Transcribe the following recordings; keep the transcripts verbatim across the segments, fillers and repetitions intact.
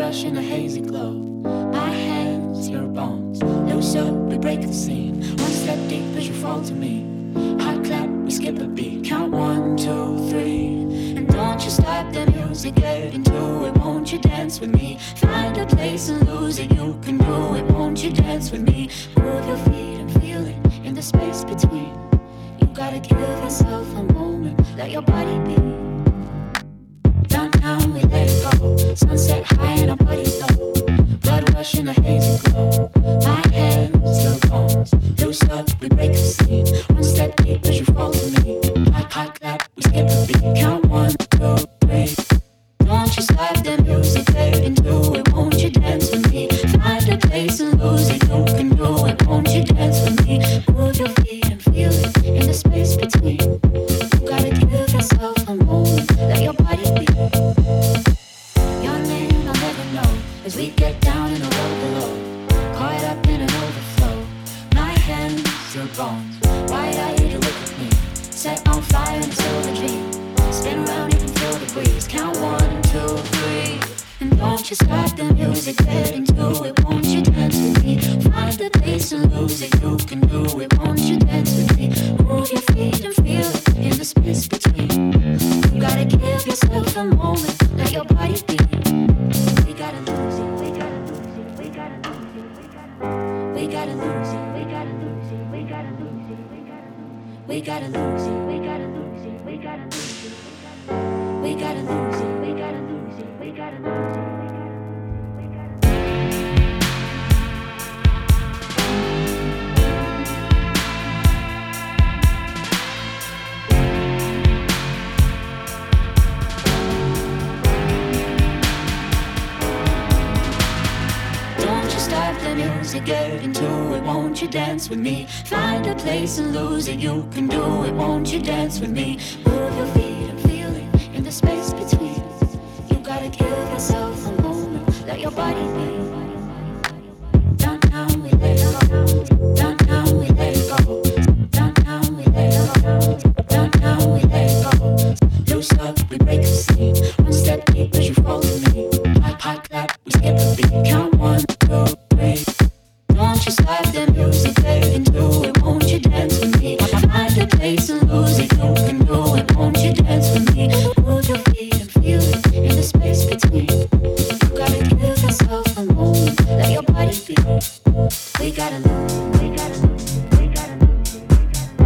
rush in a hazy glow. My hands, your bones. Loose up, we break the scene. One step deep as you fall to me. Hot clap, we skip a beat. Count one, two, three. And don't you stop the music, get into it. Won't you dance with me? Find a place and lose it. You can do it. Won't you dance with me? Move your feet and feel it in the space between. You gotta give yourself a moment. Let your body be. Downtown, we let it go. Sunset high and our bodies low. Blood rush in a hazy glow. My hands, your bones. Loose up, we break the scene. One step deep as you fall to me. Hot, hot clap, we skip a beat. Count one, two, three. Don't you stop the music, get into it. Won't you dance with me? Find a place and lose it. You can do it. Won't you dance with me? Move your feet and feel it in the space between. You gotta give yourself a moment. Let your body be. Your name I'll never know as we get down in the road below. Caught up in an overflow. My hands, your bones. Wide-eyed, you look at me. Set on fire in a silver dream. Spin around, you can feel the breeze. Count one, two, three. And don't you stop the music, get into it. Won't you dance with me? Find the place and lose it. You can do it. Won't you dance with me? Move your feet and feel it in the space between. You gotta give yourself a moment. Let your body be. We gotta lose it. We gotta lose it. We gotta lose it. We gotta lose it. We gotta lose it. We gotta lose it. We gotta lose it. We gotta lose it. We gotta lose it. We gotta lose it. We gotta lose it. We gotta lose it. The music, get into it. Won't you dance with me? Find a place and lose it. You can do it. Won't you dance with me? Move your feet and feel it in the space between. You gotta give yourself a moment. Let your body be. Downtown we let it go. Downtown we let it go. Downtown we let it go. Downtown we let it go. Loose up, we break the scene. One step deep as you fall to me. Hot, hot clap, we skip a beat. Count one, two. Don't you stop the music, get into it. Won't you dance with me? Find a place and lose it. You can do it. Won't you dance with me? Move your feet and feel it in the space between. You gotta give yourself a moment. Let your body be. We gotta lose it. We gotta lose it. We gotta lose it.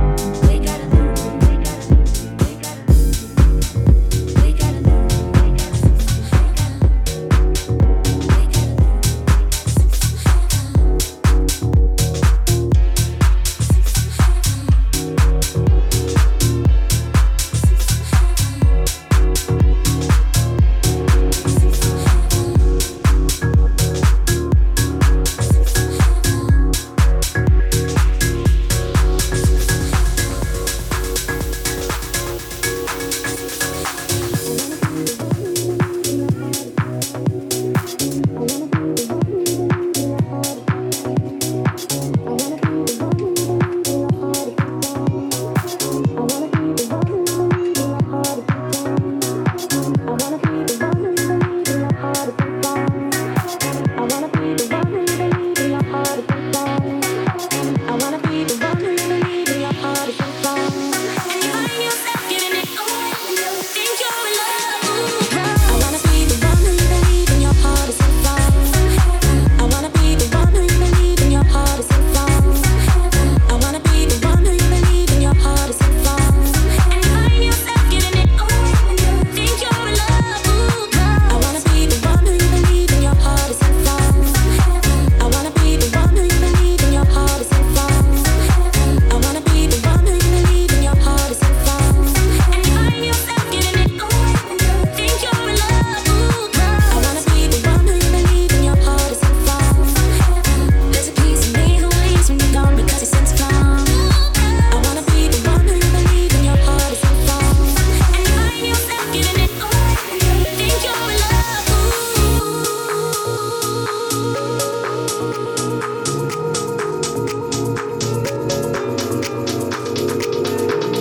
We gotta lose it. We gotta lose it. We gotta lose it. We gotta lose it.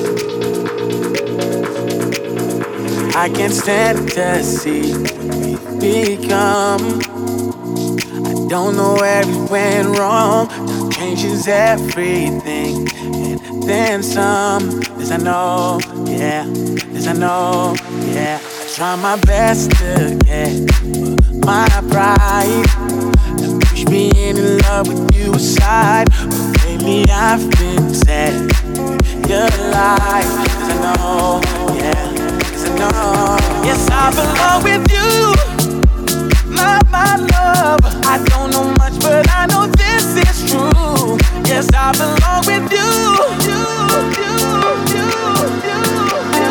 I can't stand to see become. I don't know where it went wrong. Time changes everything, and then some. This I know, yeah. This I know, yeah. I try my best to get my pride and push being in love with you aside. But lately I've been sad. Your life, 'cause I know, yeah. 'Cause I know, yes, I belong with you. My, my love, I don't know much, but I know this is true. Yes, I belong with you. You, you, you, you, you, you.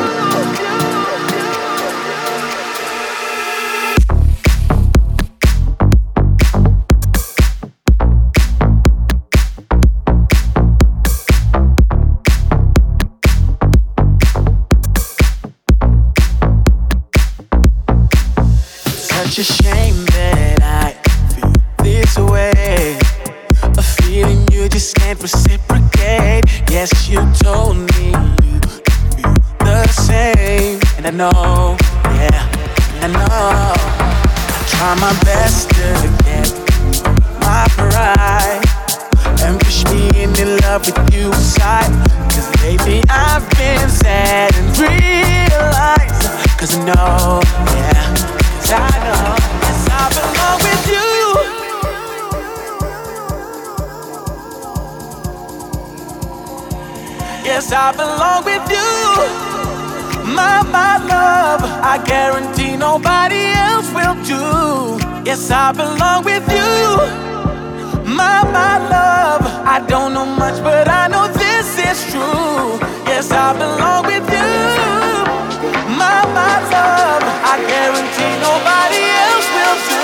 Such a shame that I feel this way. A feeling you just can't reciprocate. Yes, you told me you feel the same. And I know, yeah, I know. I try my best to get my pride and push me into love with you aside. 'Cause lately I've been sad and realized. 'Cause I know, yeah. I know, yes, I belong with you. Yes, I belong with you. My, my love, I guarantee nobody else will do. Yes, I belong with you. My, my love, I don't know much, but I know this is true. Yes, I belong with you. My, my love, I guarantee nobody else will do.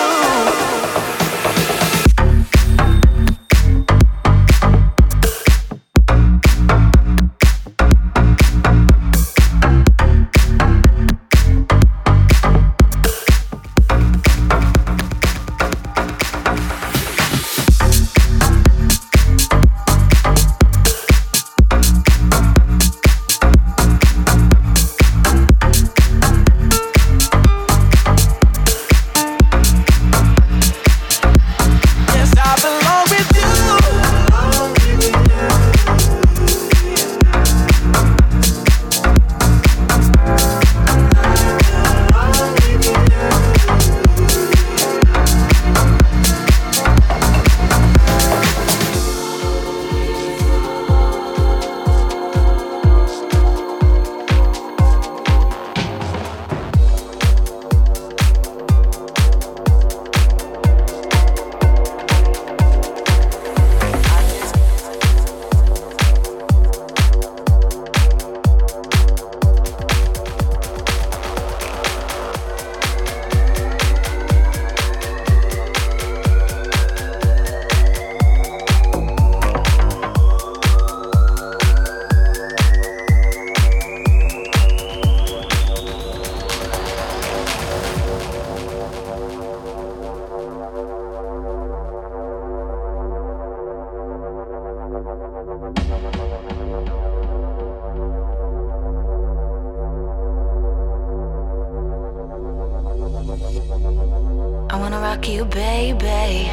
rock you, baby.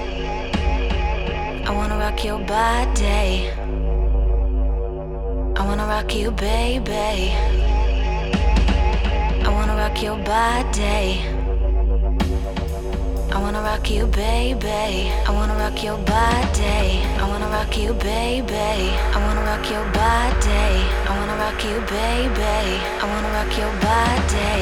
I wanna rock your body. I wanna rock you, baby. I wanna rock your body. I wanna rock you, baby. I wanna rock your body. I wanna rock you, baby. I wanna rock your body. I wanna rock you, baby. I wanna rock your body.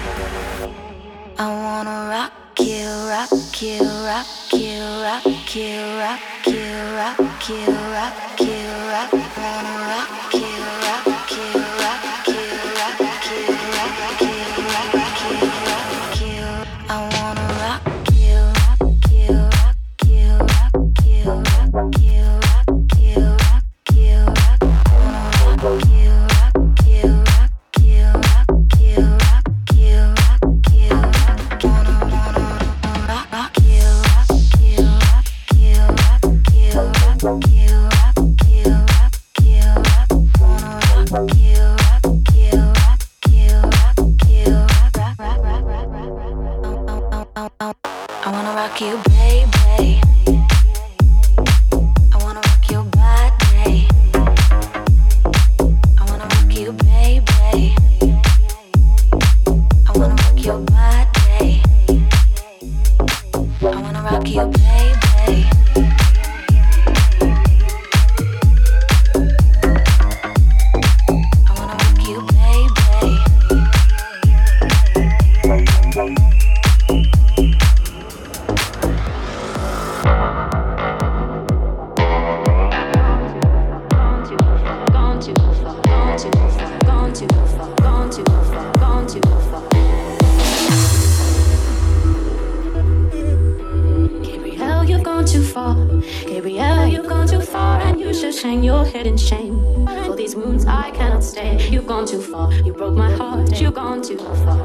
I wanna rock you, rock you, rock you, rock you, rock you, rock you, rock you, rock. Wanna rock you, rock you, rock you, rock you, rock you, rock you, rock you. I wanna rock you, rock you, rock you, rock you, rock you, rock you, rock you, rock. Wanna rock you, rock you, rock you, rock you, rock you, rock you, rock. Wanna wanna rock rock you, rock you, rock you, rock you, rock you, rock you, rock. rock you, baby. I wanna rock your body. I wanna rock you, baby. I wanna rock your body. I wanna rock you, baby. Hang your head in shame. For these wounds I cannot stay. You've gone too far. You broke my heart. You've gone too far.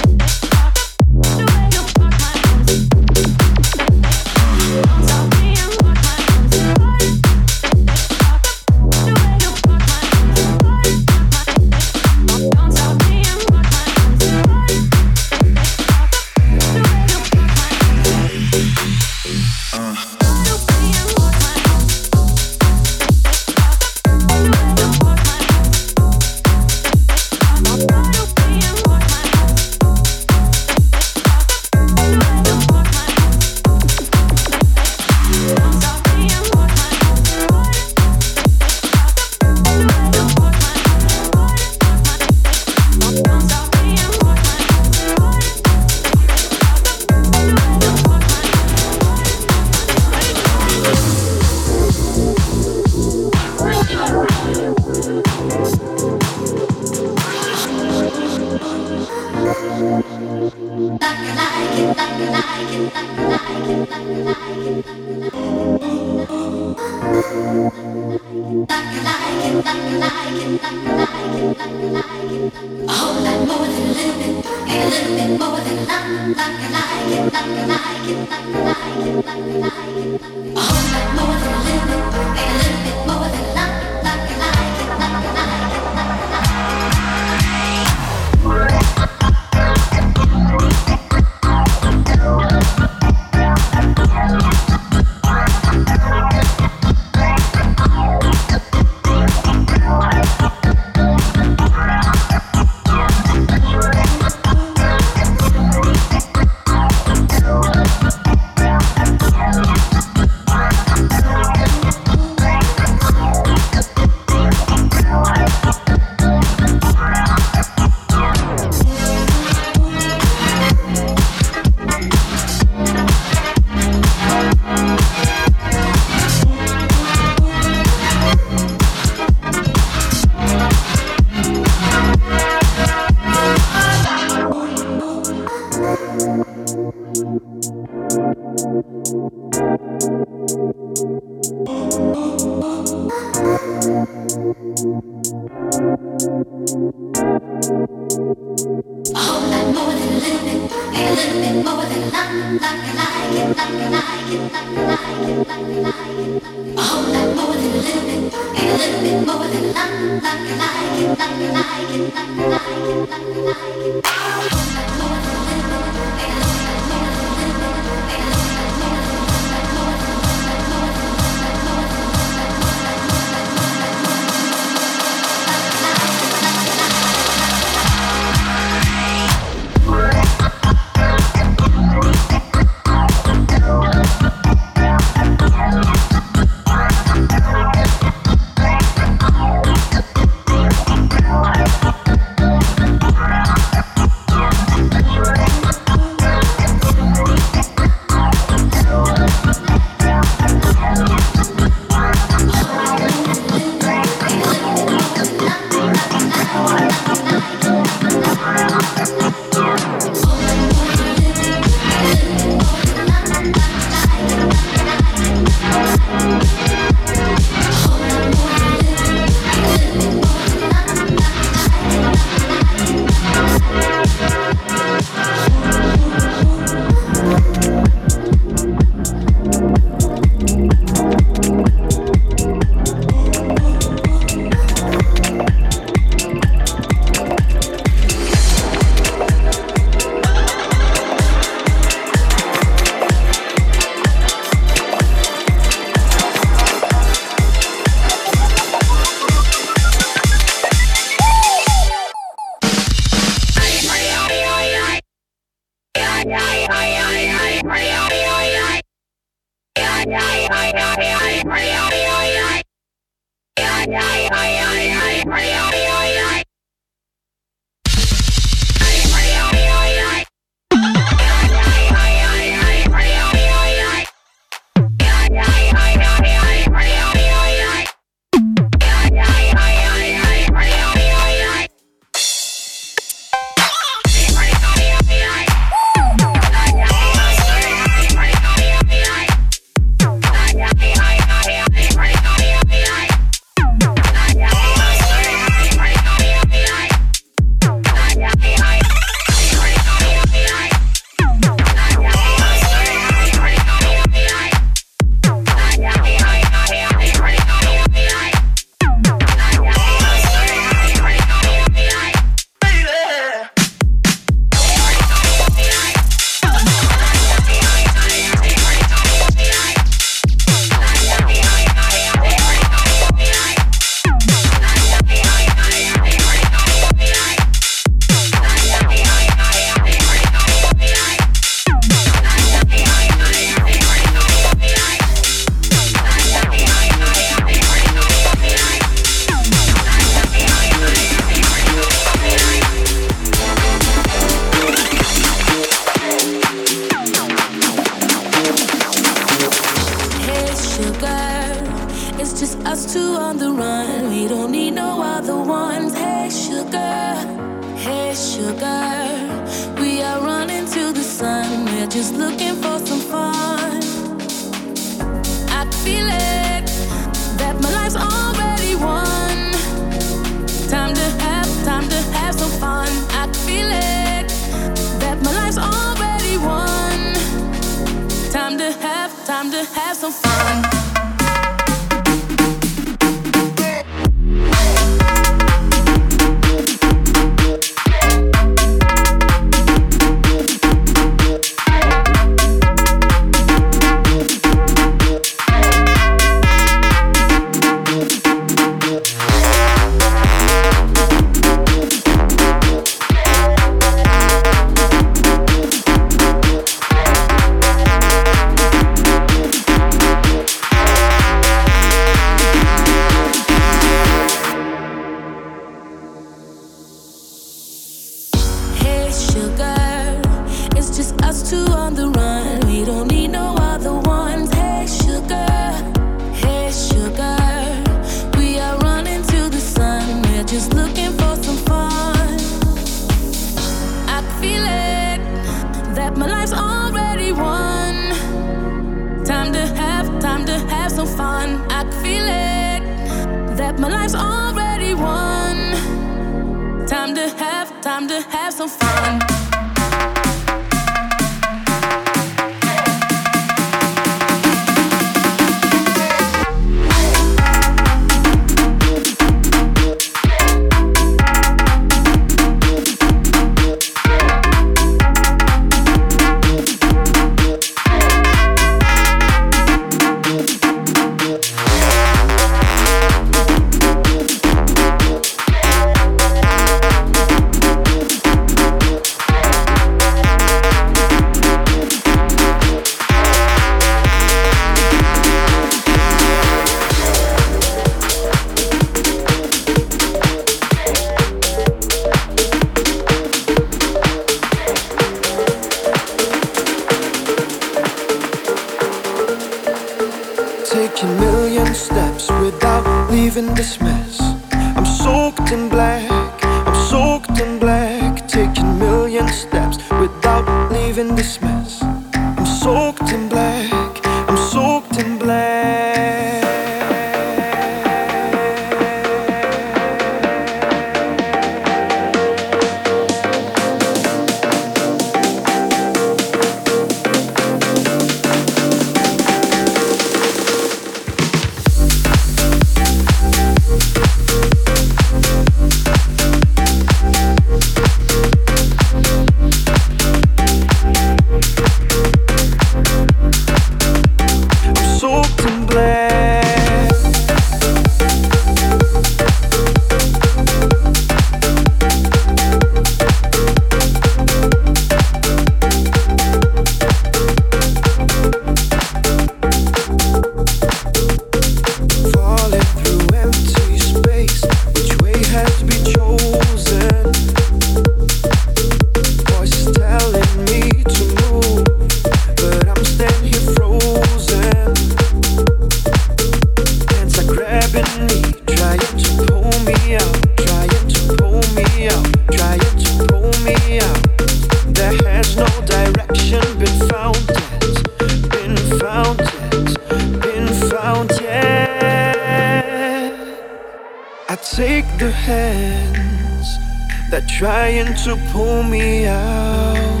take the hands that trying to pull me out.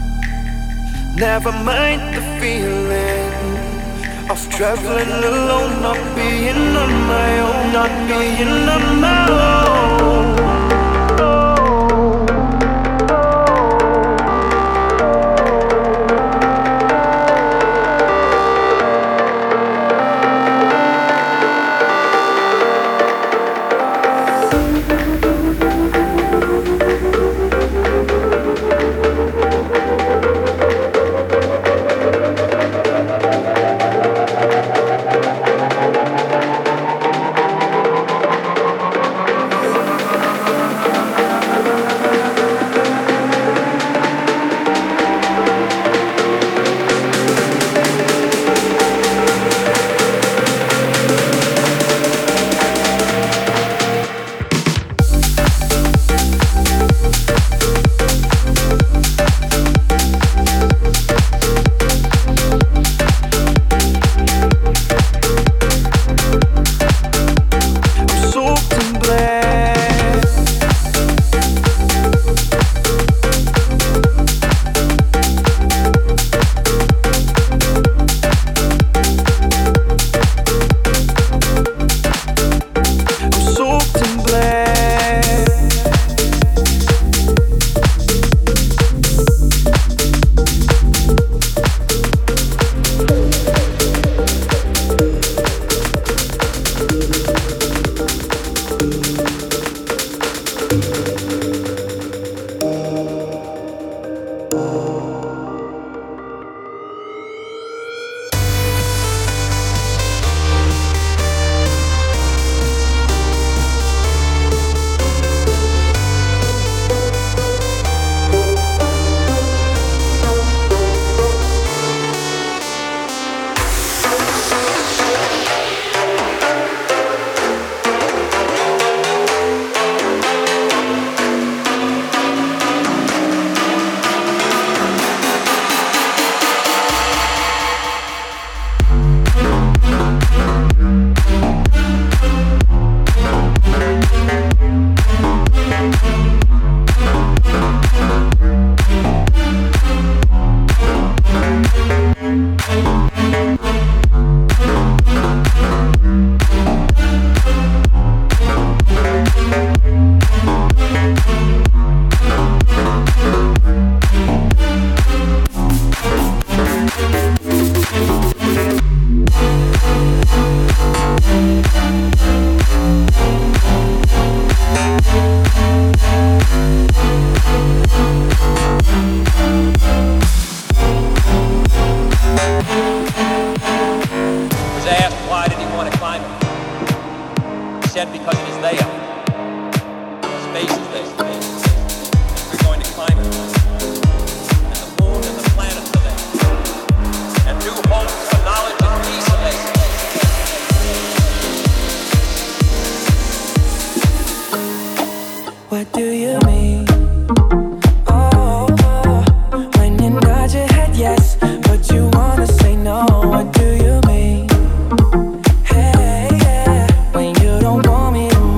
Never mind the feeling of traveling alone, not being on my own, not being on my own. When you don't want me to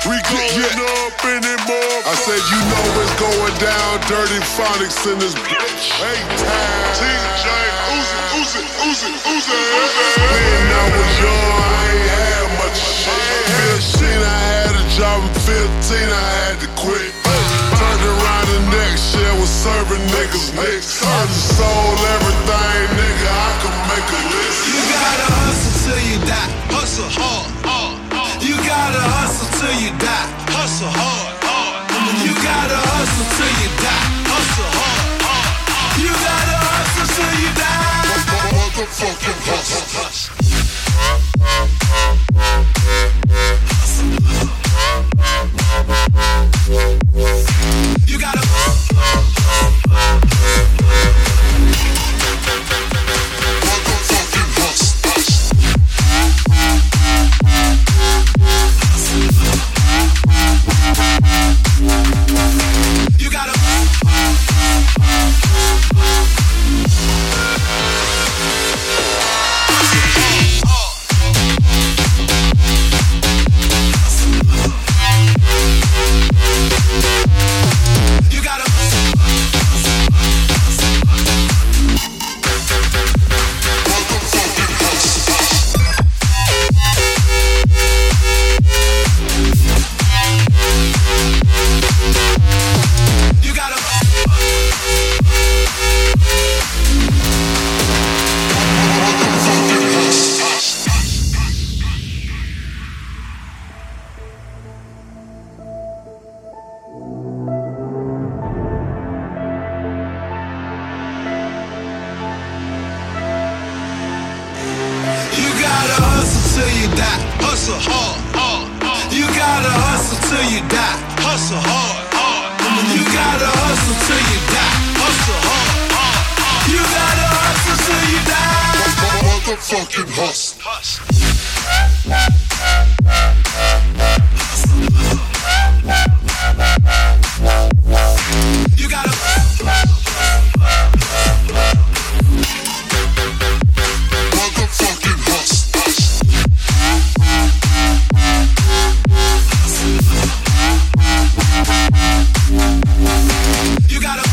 We going yeah. up anymore. I said, you know it's going down. Dirty Phonics in this bitch. Hey, time. T J, Uzi, Uzi, Uzi, Uzi. When I was young, I ain't had much shit. fifteen, I had a job. At fifteen, I had to quit. Turned around the next year, was serving niggas next. I just sold everything, nigga. I could make a list. You gotta hustle till you die. Hustle hard, hard. You gotta hustle till you die. Hustle hard, hard. You gotta hustle till you die. Hustle hard, hard. You gotta hustle till you die. Motherfucking hustle. You gotta motherfucking hustle. You gotta You gotta Motherfucking hustle. You gotta Motherfucking hustle. You gotta hustle till you die. Hustle hard, hard. You gotta hustle till you die. Hustle hard, hard. You gotta hustle till you die. Hustle hard, hard. You gotta hustle till you die. Motherfucking hustle. You gotta Motherfucking hustle. You gotta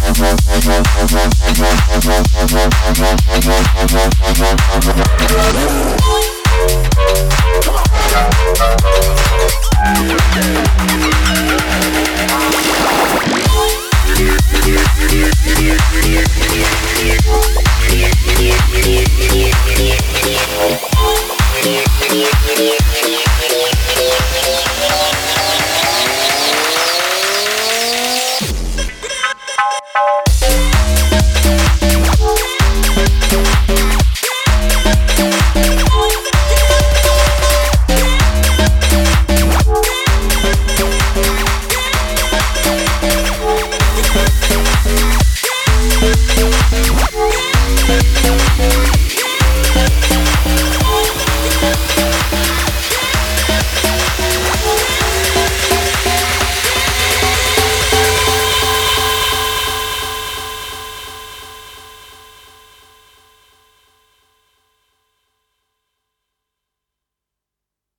Come on.